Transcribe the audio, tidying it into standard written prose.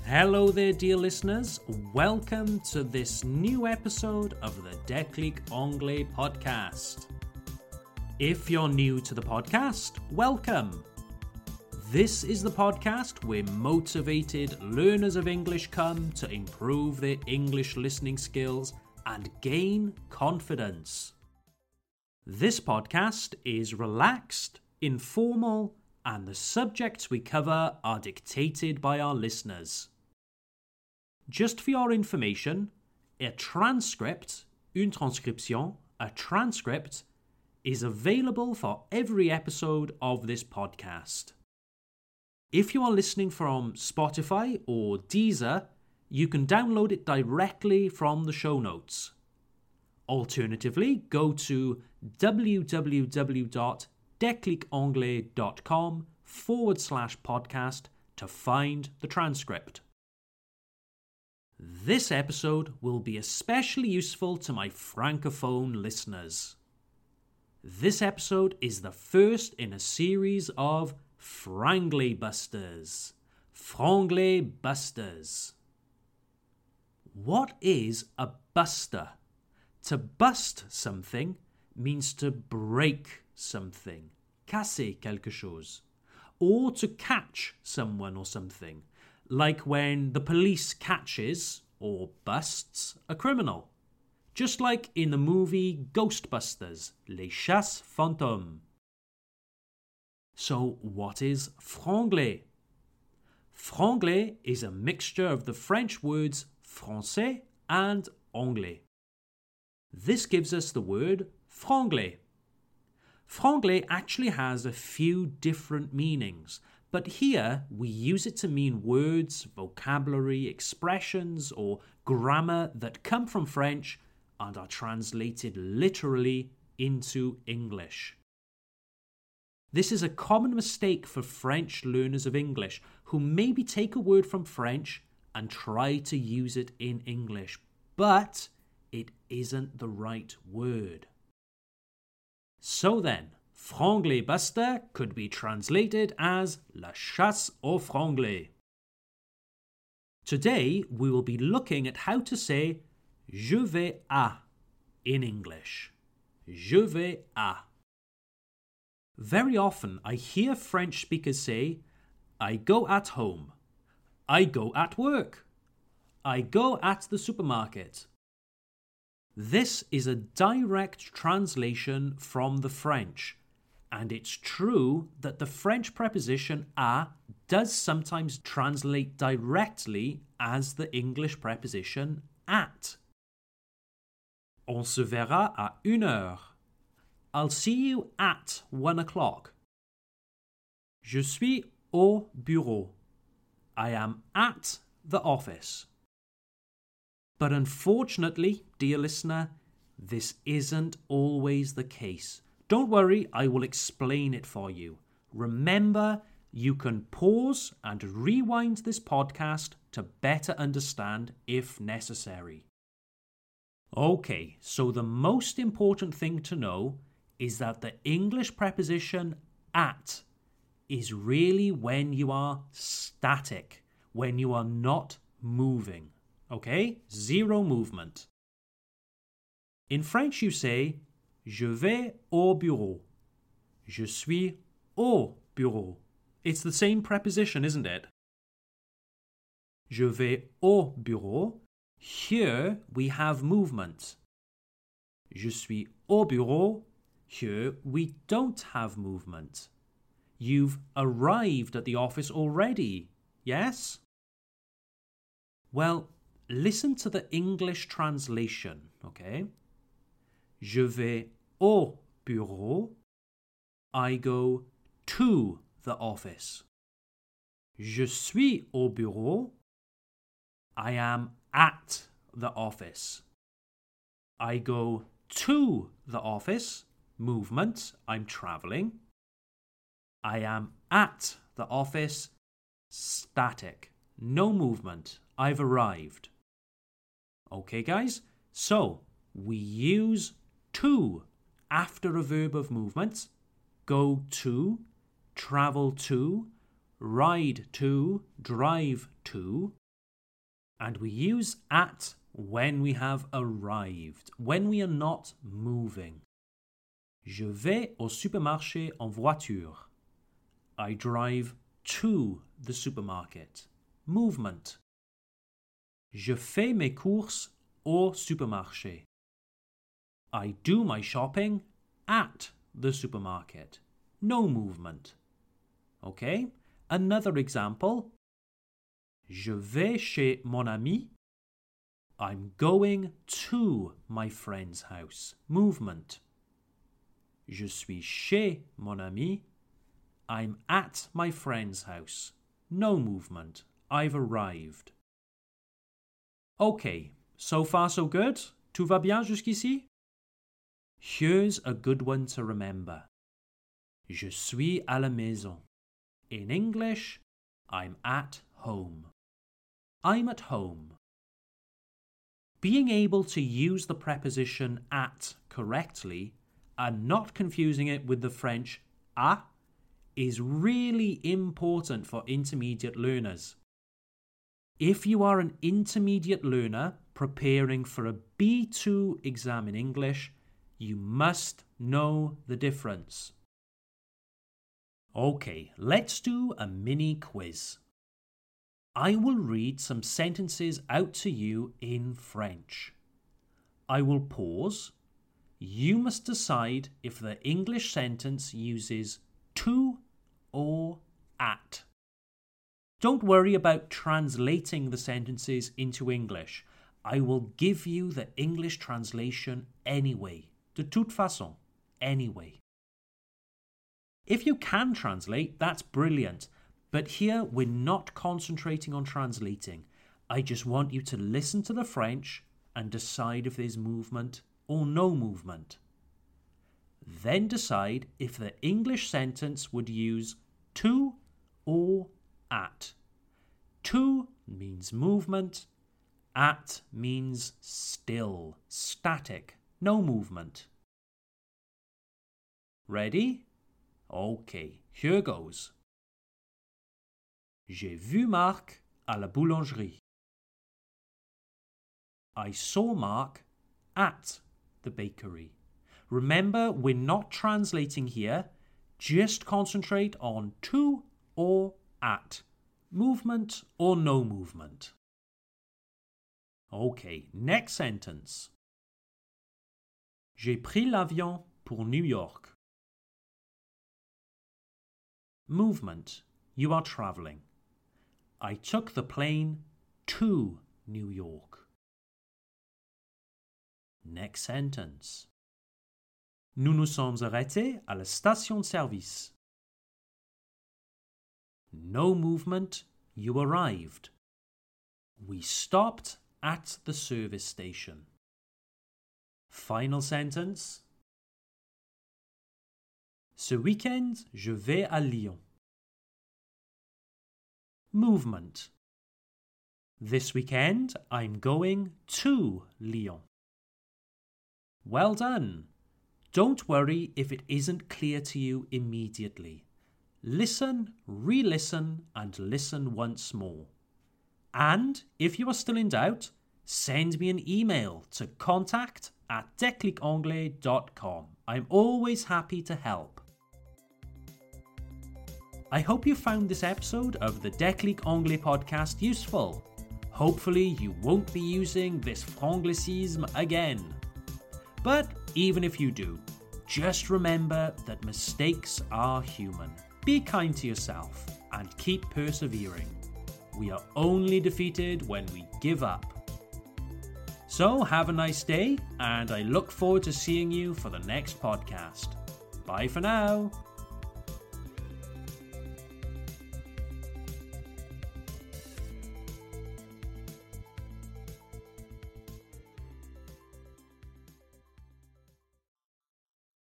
Hello there, dear listeners. Welcome to this new episode of the Déclic Anglais podcast. If you're new to the podcast, welcome. This is the podcast where motivated learners of English come to improve their English listening skills and gain confidence. This podcast is relaxed, informal, and the subjects we cover are dictated by our listeners. Just for your information, a transcript, une transcription, a transcript, is available for every episode of this podcast. If you are listening from Spotify or Deezer, you can download it directly from the show notes. Alternatively, go to www.declicanglais.com/podcast to find the transcript. This episode will be especially useful to my francophone listeners. This episode is the first in a series of Franglais Busters. Franglais Busters. What is a buster? To bust something means to break something, casser quelque chose, or to catch someone or something, like when the police catches or busts a criminal, just like in the movie Ghostbusters, Les Chasses Fantômes. So what is franglais? Franglais is a mixture of the French words français and anglais. This gives us the word franglais. Franglais actually has a few different meanings, but here we use it to mean words, vocabulary, expressions, or grammar that come from French and are translated literally into English. This is a common mistake for French learners of English who maybe take a word from French and try to use it in English, but it isn't the right word. So then, franglais buster could be translated as la chasse aux franglais. Today, we will be looking at how to say je vais à in English. Je vais à. Very often, I hear French speakers say, I go at home. I go at work. I go at the supermarket. This is a direct translation from the French, and it's true that the French preposition à does sometimes translate directly as the English preposition at. On se verra à 1h. I'll see you at 1 o'clock. Je suis au bureau. I am at the office. But unfortunately, dear listener, this isn't always the case. Don't worry, I will explain it for you. Remember, you can pause and rewind this podcast to better understand if necessary. Okay, so the most important thing to know is that the English preposition at is really when you are static, when you are not moving. Okay? Zero movement. In French, you say, je vais au bureau. Je suis au bureau. It's the same preposition, isn't it? Je vais au bureau. Here we have movement. Je suis au bureau. Here we don't have movement. You've arrived at the office already, yes? Well, listen to the English translation, okay? Je vais au bureau. I go to the office. Je suis au bureau. I am at the office. I go to the office. Movement, I'm traveling. I am at the office. Static. No movement. I've arrived. Okay, guys? So, we use to after a verb of movement. Go to, travel to, ride to, drive to. And we use at when we have arrived, when we are not moving. Je vais au supermarché en voiture. I drive to the supermarket. Movement. Je fais mes courses au supermarché. I do my shopping at the supermarket. No movement. Okay? Another example. Je vais chez mon ami. I'm going to my friend's house. Movement. Je suis chez mon ami. I'm at my friend's house. No movement. I've arrived. Okay, so far so good? Tout va bien jusqu'ici? Here's a good one to remember. Je suis à la maison. In English, I'm at home. I'm at home. Being able to use the preposition at correctly and not confusing it with the French à is really important for intermediate learners. If you are an intermediate learner preparing for a B2 exam in English, you must know the difference. Okay, let's do a mini quiz. I will read some sentences out to you in French. I will pause. You must decide if the English sentence uses to or at. Don't worry about translating the sentences into English. I will give you the English translation anyway. De toute façon, anyway. If you can translate, that's brilliant. But here we're not concentrating on translating. I just want you to listen to the French and decide if there's movement or no movement. Then decide if the English sentence would use to or at. To means movement. At means still, static, no movement. Ready? Okay, here goes. J'ai vu Marc à la boulangerie. I saw Mark at the bakery. Remember, we're not translating here. Just concentrate on to or at. Movement or no movement. Okay, next sentence. J'ai pris l'avion pour New York. Movement. You are traveling. I took the plane to New York. Next sentence. Nous nous sommes arrêtés à la station-service. No movement, you arrived. We stopped at the service station. Final sentence. Ce week-end, je vais à Lyon. Movement. This weekend, I'm going to Lyon. Well done. Don't worry if it isn't clear to you immediately. Listen, re-listen, and listen once more. And if you are still in doubt, send me an email to contact@declicanglais.com. I'm always happy to help. I hope you found this episode of the Déclic Anglais podcast useful. Hopefully you won't be using this franglicisme again. But even if you do, just remember that mistakes are human. Be kind to yourself and keep persevering. We are only defeated when we give up. So have a nice day, and I look forward to seeing you for the next podcast. Bye for now.